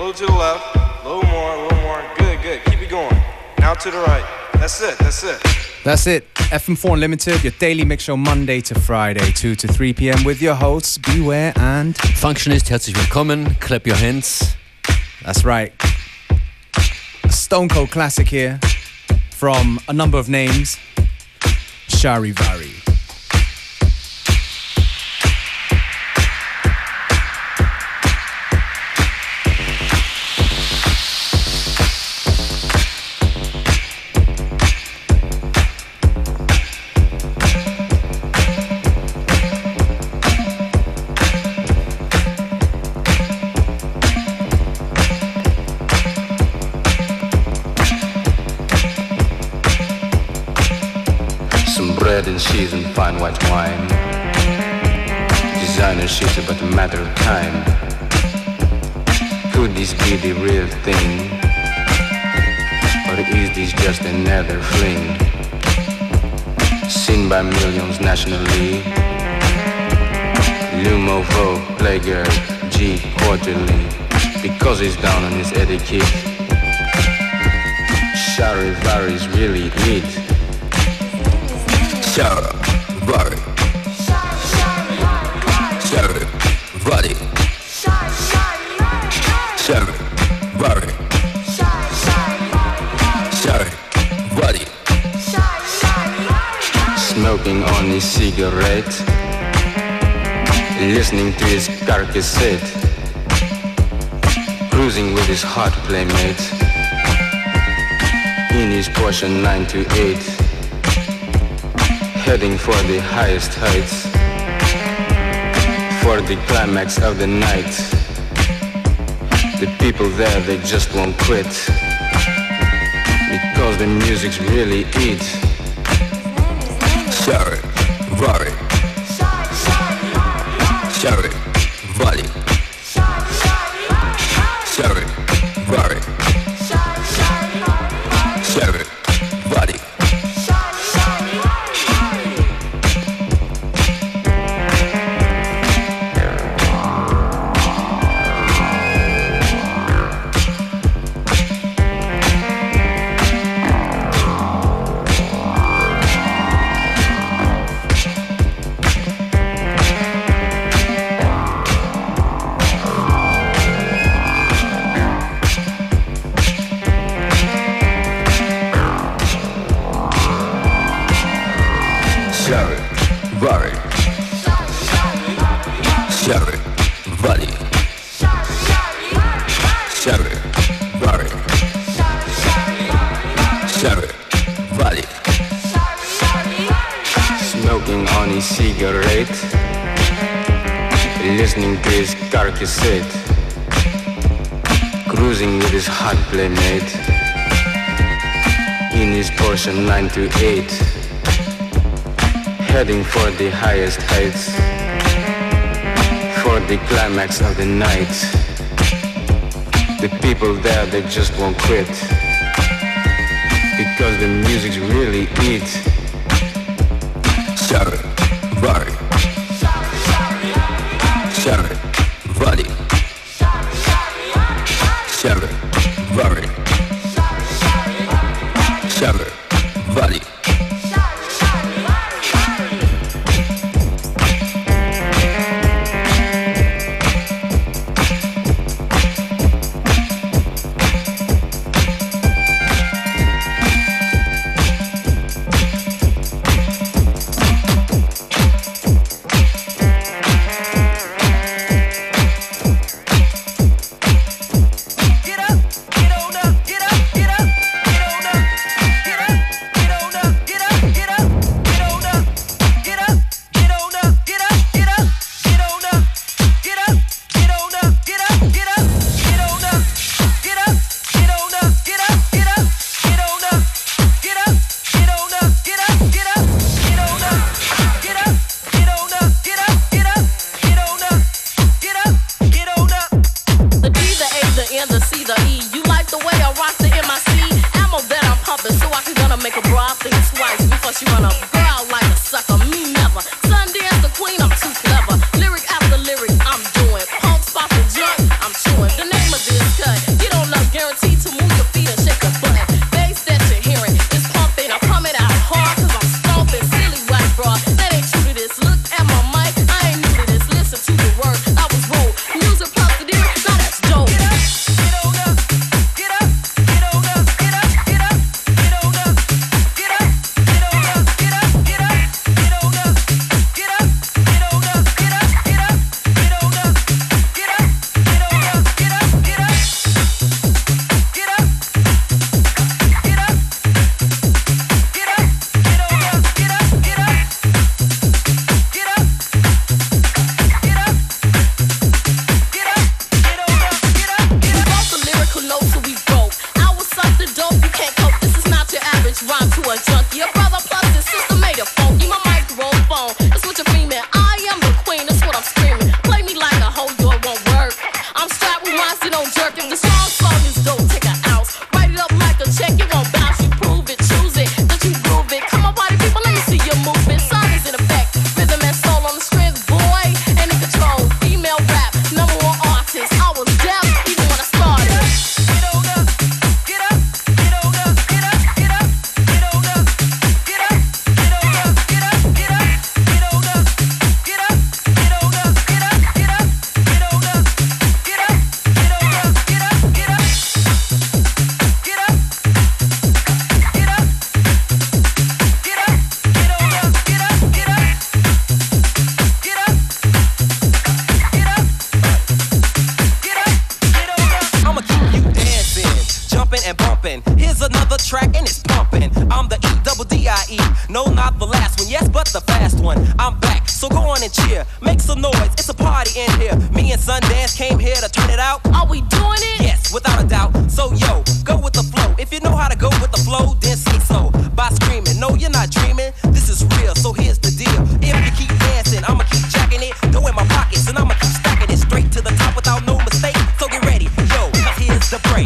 little to the left, a little more. Good, good. Keep it going. Now to the right. That's it. That's it. FM4 Unlimited, your daily mix show Monday to Friday, 2 to 3 p.m. with your hosts, Beware and Functionist. Herzlich willkommen. Clap your hands. That's right. A Stone Cold classic here from a number of names. Charivari. Bread and cheese and fine white wine. Designer shit about a matter of time. Could this be the real thing? Or is this just another fling? Seen by millions nationally. Lumovo, Playgirl, G quarterly. Because he's down on his etiquette. Charivaris really it. Charivari. Charivari. Charivari. Charivari. Smoking on his cigarette, listening to his car cassette, cruising with his hot playmate in his Porsche 928. Heading for the highest heights, for the climax of the night. The people there, they just won't quit, because the music's really it. Charivari. Charivari. Charivari. Charivari. Smoking on his cigarette, listening to his car cassette, cruising with his hot playmate in his Porsche 928, heading for the highest heights, for the climax of the night. The people there, they just won't quit, because the music's really it. Charivari. Charivari. Charivari. Charivari. Plus you run a girl like a sucker, me never. Sundance the queen, I'm too clever. Lyric after lyric, I'm doing. Pump, spot the joint, I'm chewing. The name of this cut junkie. A brother plus his sister made it funky. My microphone, that's what you're beaming. I am the queen, that's what I'm screaming. Play me like a hoe, yo, it won't work. I'm strapped with mine, so don't jerk. If the song is dope, take an ounce. Write it up like a check, it won't bounce. You prove it, choose it, don't you groove it. Come on, body people, let me see your movement. Sound is in effect, rhythm and soul on the strings, boy. And in control, female rap, number one artist. I was deaf even when I started. Get on up, get up, get on up, get up, get up, get on up, get up, get on up, get up, get up, get on up, get up, get on up, get up, get up, get on up, get up, get on up, get up, get up, get up, get up, get up, get up, get up, get on up, get up, get up, get up, get up, get up, get on up. I'ma keep you dancing, jumping and bumping. Here's another track and it's pumping. I'm the E-double-D-I-E. No, not the last one, yes, but the fast one. I'm back, so go on and cheer. Make some noise, it's a party in here. Me and Sundance came here to turn it out. Are we doing it? Yes, without a doubt. So yo, go with the flow. If you know how to go with the flow, then say so. By screaming, no, you're not dreaming. This is real, so here's the deal. If you keep dancing, I'ma keep jacking it. Go in my pockets, and I'ma keep stacking it straight to the top without no mistake. So get ready, yo, 'cause here's the break.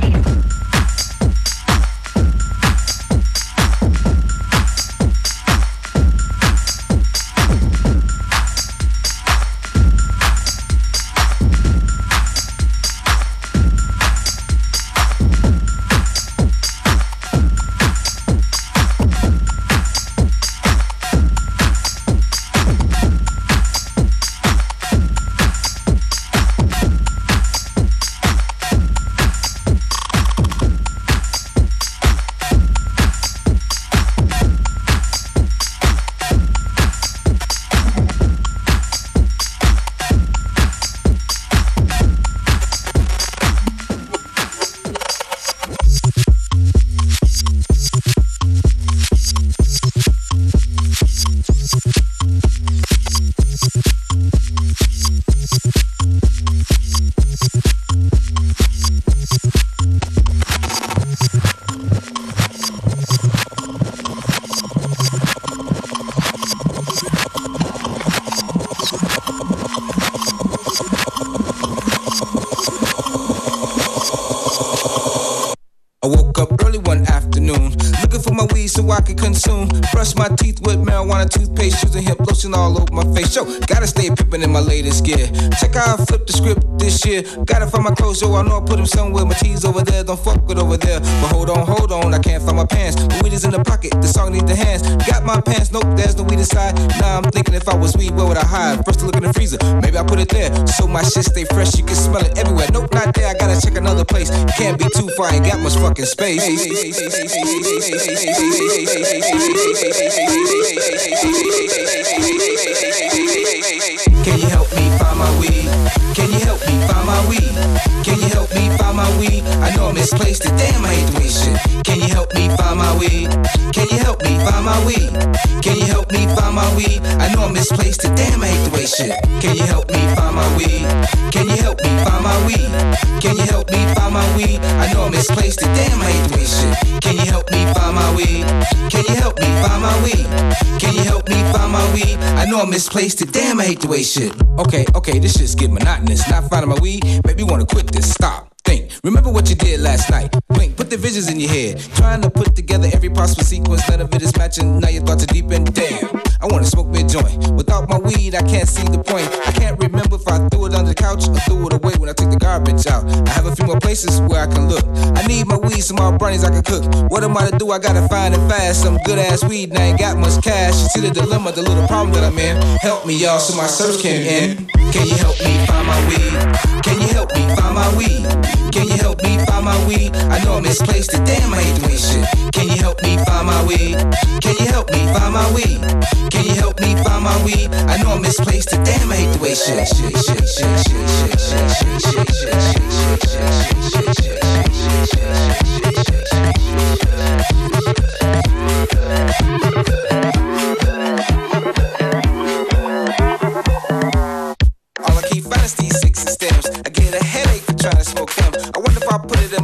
I woke up early one afternoon, looking for my weed so I could consume. Brush my teeth with marijuana toothpaste, using hemp lotion all over my face. Yo, gotta stay pimpin' in my latest gear. Check how I flipped the script this year. Gotta find my clothes, yo, I know I put them somewhere. My tees over there, don't fuck with over there. But hold on, I can't find my pants. The weed is in the pocket, the song need the hands. Got my pants, nope, there's no weed inside. Now I'm thinking if I was weed, where would I hide? First to look in the freezer, maybe I put it there. So my shit stay fresh, you can smell it everywhere. Nope, not there, I gotta check another place. Can't be too far, ain't got much fucking space. Can you help me find my weed? Can you help me find my weed? Can you help me find my weed? I know I misplaced it, damn, I hate the way shit. Can you help me find my weed? Can you help me find my weed? Can you help me find my weed? I know I misplaced it, damn, I hate the way shit. Can you help me find my weed? Can you help me find my weed? Can you help me find my weed? I know I misplaced it, damn, I hate the way shit. Can you help me find my weed? Can you help me find my weed? Can you help me find my weed? I know I misplaced it, damn, I hate the way shit. Okay, this shit's getting monotonous. Not finding my weed, maybe you wanna quit this, stop. Think, remember what you did last night. Blink, put the visions in your head. Trying to put together every possible sequence. None of it is matching, now your thoughts are deep and damn, I wanna smoke me a joint. Without my weed, I can't see the point. I can't remember if I threw it under the couch or threw it away when I took the garbage out. I have a few more places where I can look. I need my weed, some more brownies I can cook. What am I to do? I gotta find it fast. Some good ass weed, and I ain't got much cash. You see the dilemma, the little problem that I'm in. Help me, y'all, so my search can end. Can you help me find my weed? Can you help me find my weed? Can you help me find my weed? I know I misplaced it, damn, I hate doing shit. Can you help me find my weed? Can you help me find my weed? Can you help me find my weed? I know I misplaced it, damn, I hate the way shit. All I keep finding is these 6 and stems. I get a headache for trying to smoke them. I wonder if I put it in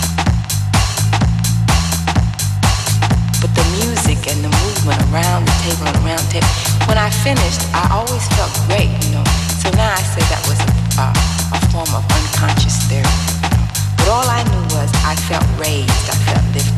on tape. When I finished, I always felt great, you know. So now I say that was a form of unconscious therapy. But all I knew was I felt raised, I felt lifted.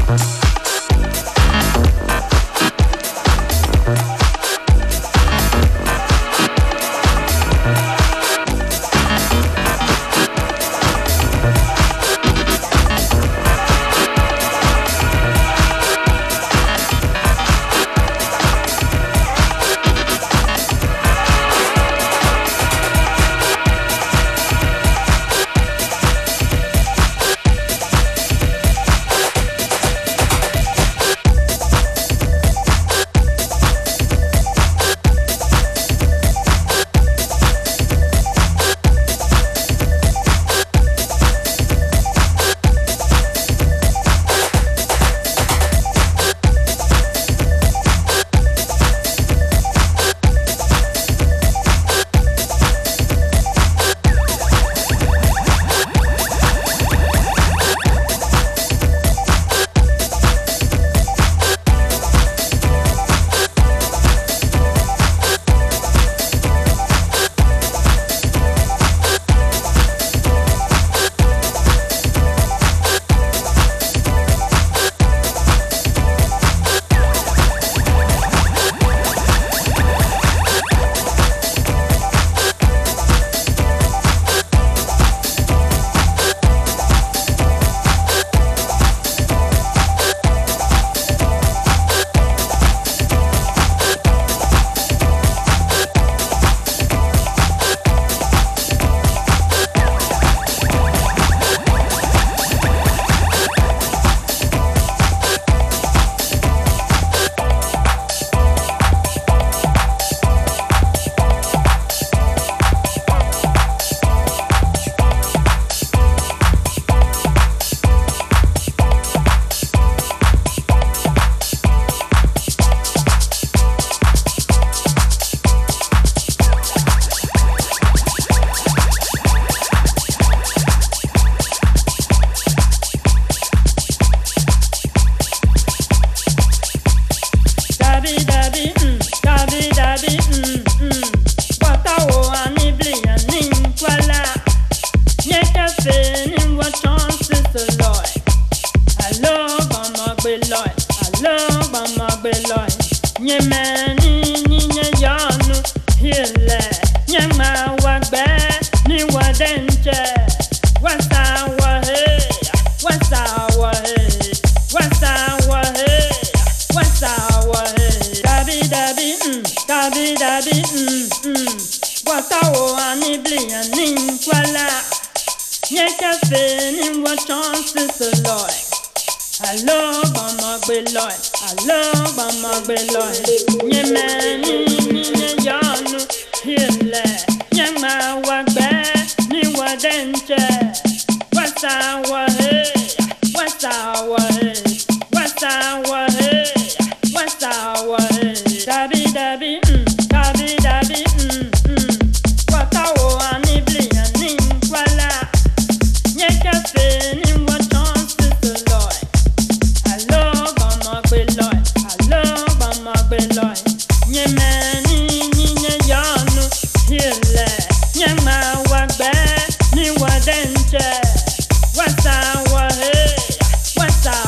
What's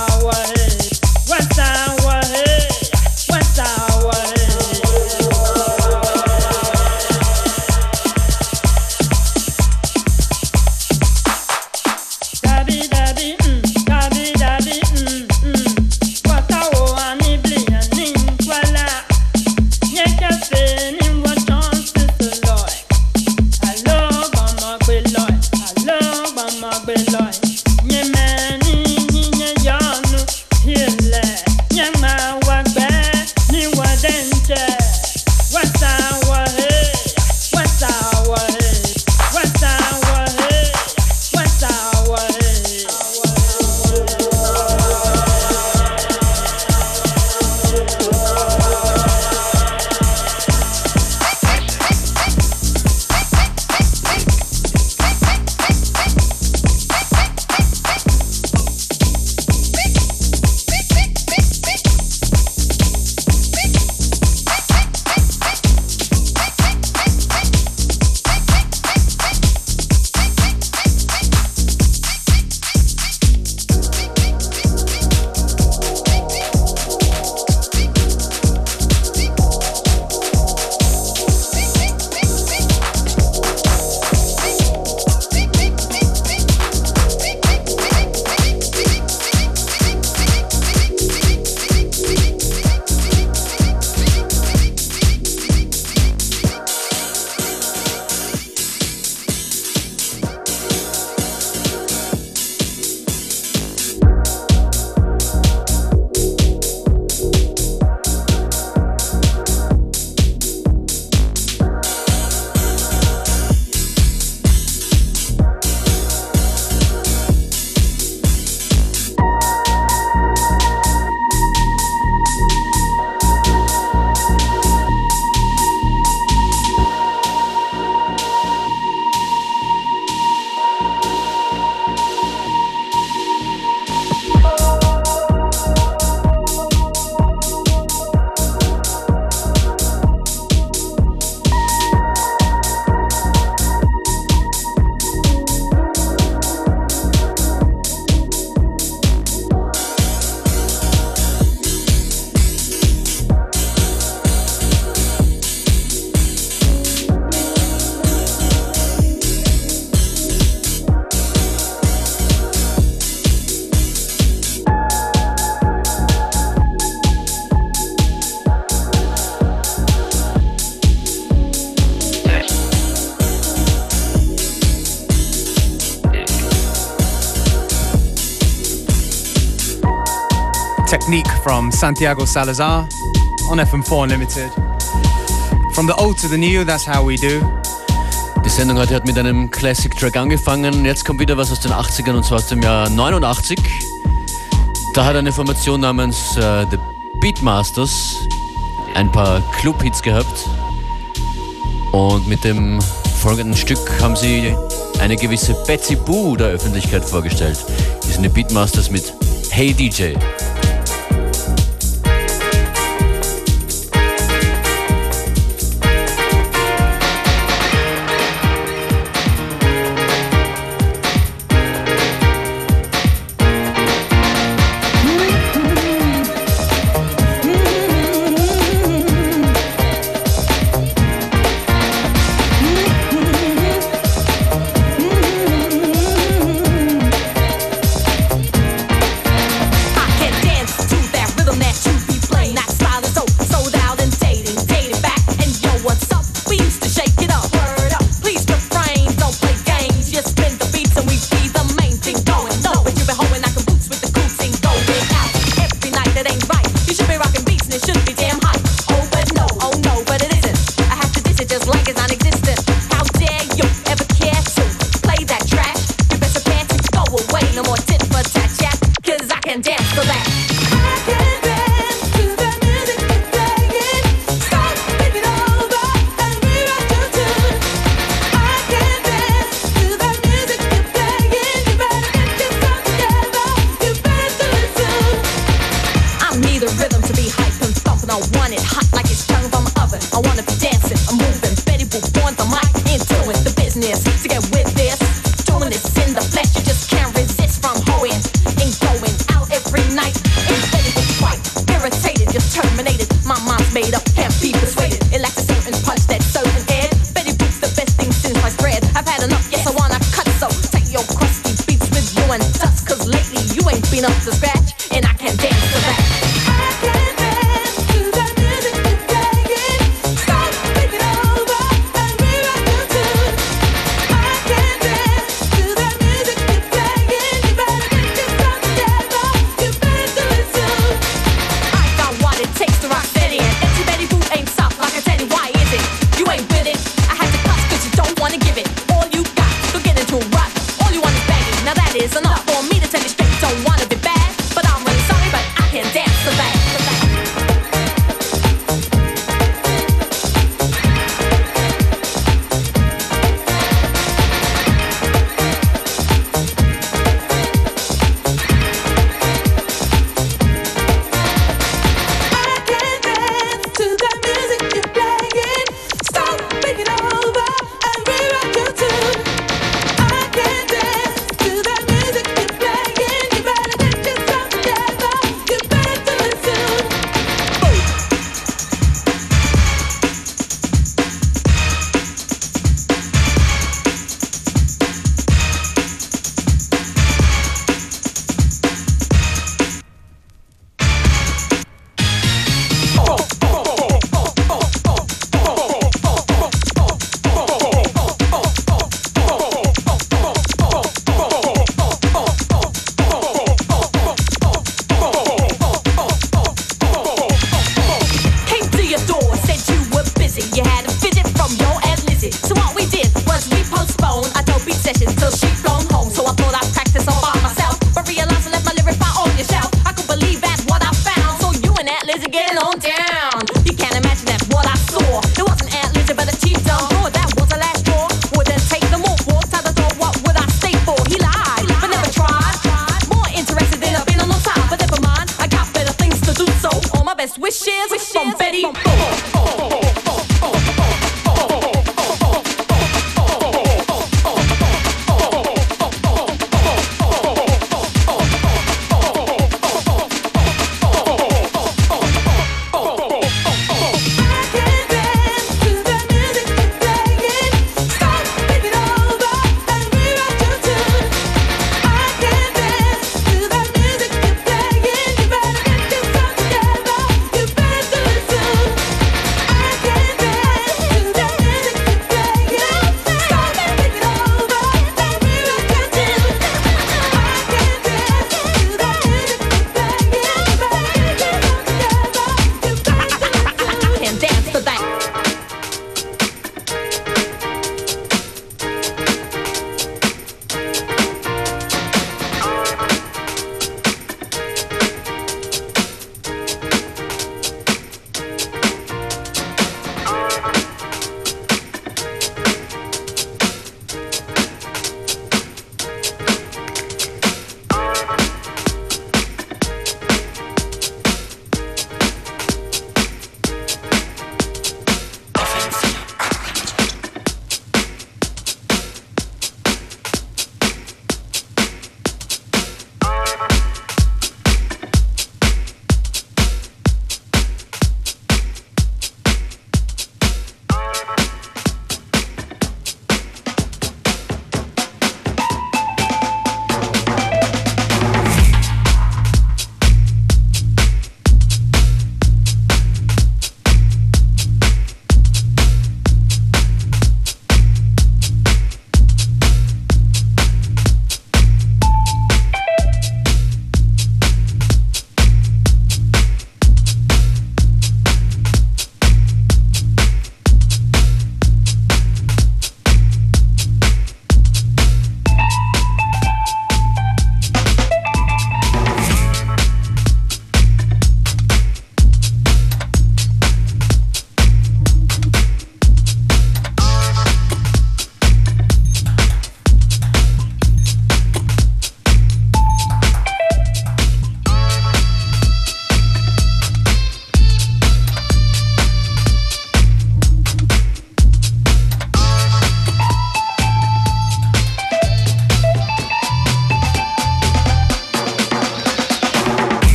Technique from Santiago Salazar on FM4 Unlimited. From the old to the new, that's how we do. Die Sendung heute hat mit einem Classic-Track angefangen. Jetzt kommt wieder was aus den 80ern und zwar aus dem Jahr 89. Da hat eine Formation namens The Beatmasters ein paar Club-Hits gehabt. Und mit dem folgenden Stück haben sie eine gewisse Betsy Boo der Öffentlichkeit vorgestellt. Die sind die Beatmasters mit Hey DJ.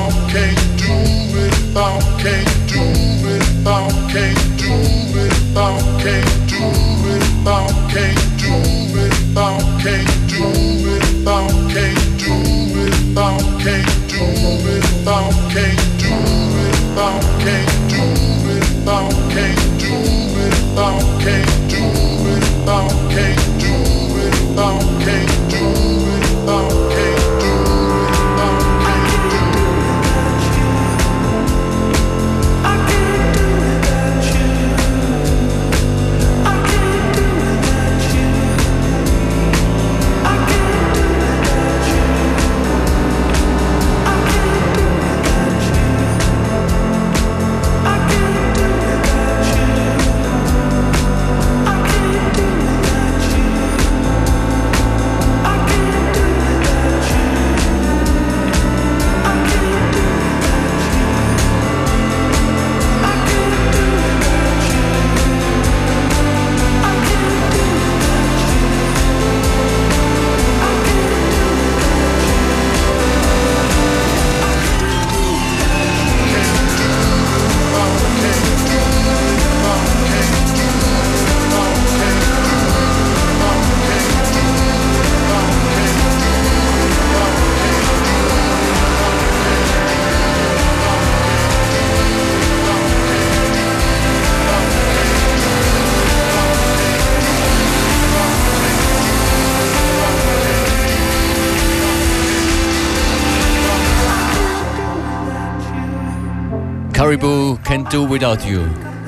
Caribou, Can't Do Without You.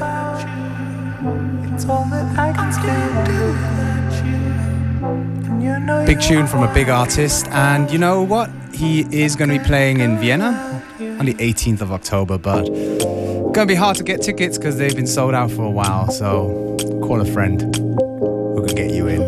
Big tune from a big artist, and you know what? He is going to be playing in Vienna on the 18th of October, but going to be hard to get tickets because they've been sold out for a while, so call a friend who can get you in.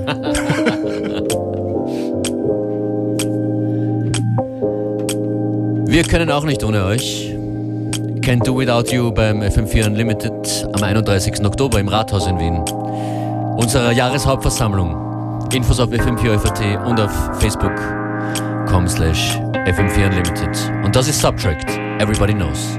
Wir können auch nicht ohne euch. Can't Do Without You beim FM4 Unlimited am 31. Oktober im Rathaus in Wien. Unserer Jahreshauptversammlung. Infos auf FM4 und auf Facebook.com/FM4 Unlimited. Und das ist Subtract. Everybody knows.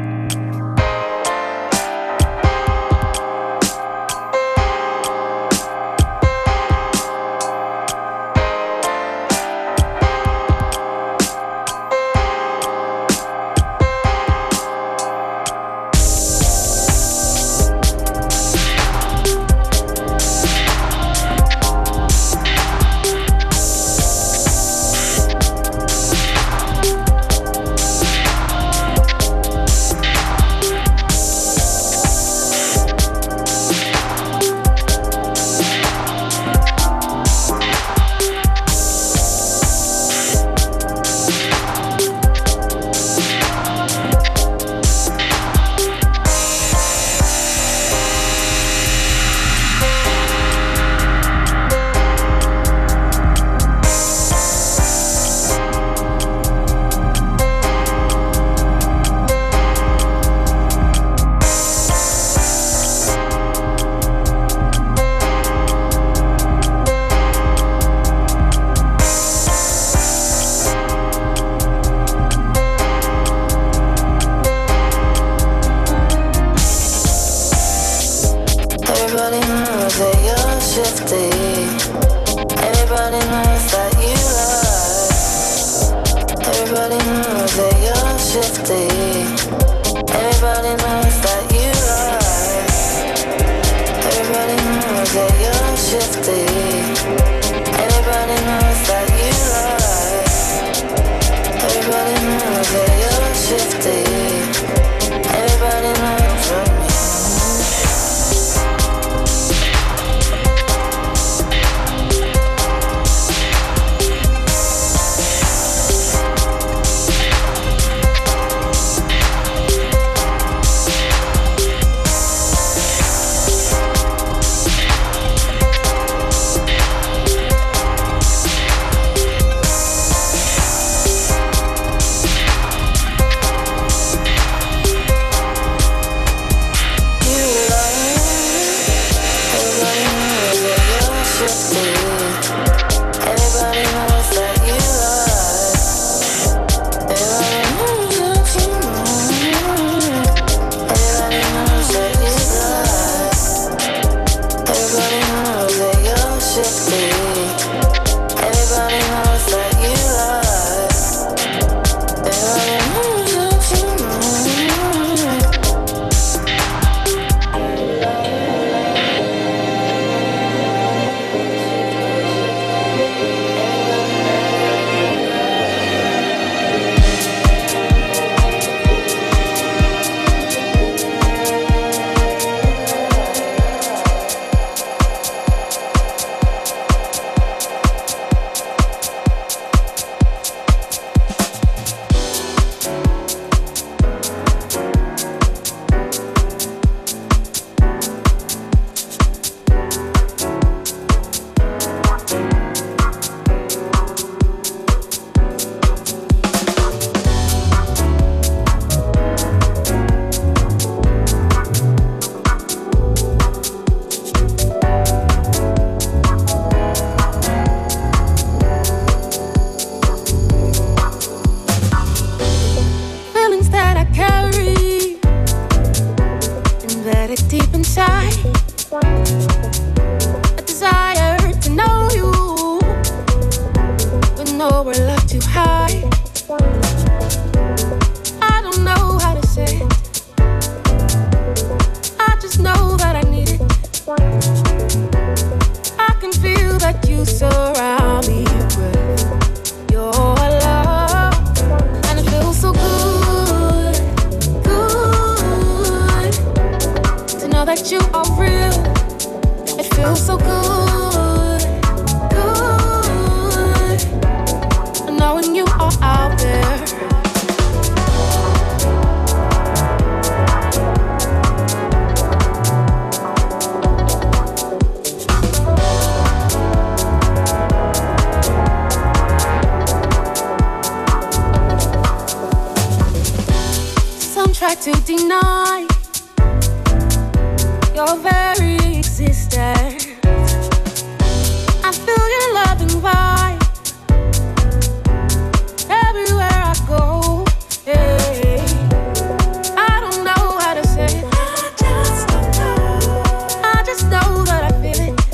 try to deny your very existence. I feel your loving vibe everywhere I go. Hey, I don't know how to say it. I just know that I feel it.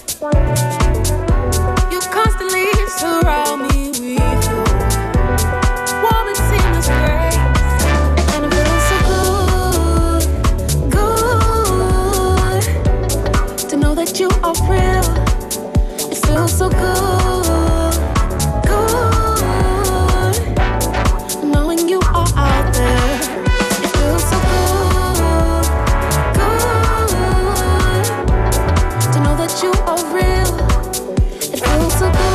You constantly surround me with you. Warm and seamless grace, and it feels so good, good to know that you are real. It feels so good, good knowing you are out there. It feels so good, good to know that you are real. It feels so good.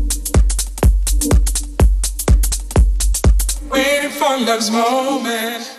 Love's moment.